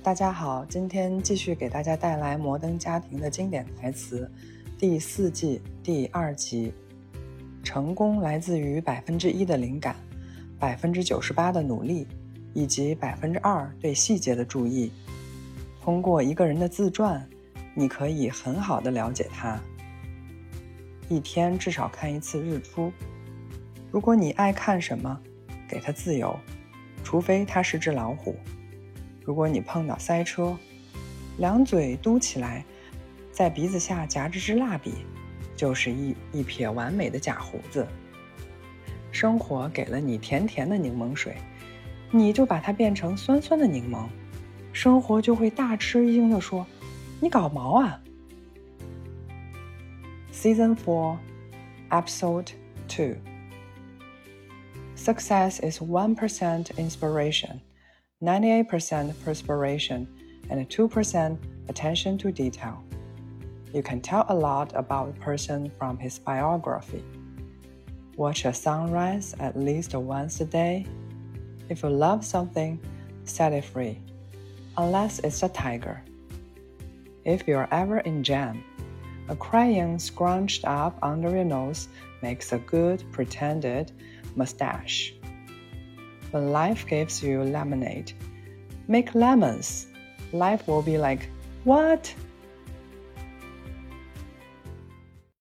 大家好，今天继续给大家带来《摩登家庭》的经典台词，第4季第2集。成功来自于1%的灵感，98%的努力，以及2%对细节的注意。通过一个人的自传，你可以很好地了解他。一天至少看1次日出。如果你爱看什么，给他自由，除非他是只老虎。如果你碰到塞车，两嘴嘟起来，在鼻子下夹着支蜡笔，就是一撇完美的假胡子。生活给了你甜甜的柠檬水，你就把它变成酸酸的柠檬，生活就会大吃一惊地说：“你搞毛啊！” Season 4, Episode 2. Success is 1% inspiration, 98% perspiration, and 2% attention to detail. You can tell a lot about a person from his biography. Watch a sunrise at least once a day. If you love something, set it free, unless it's a tiger. If you're ever in jam, a crayon scrunched up under your nose makes a good pretended mustache. When life gives you lemonade, make lemons. Life will be like, "What?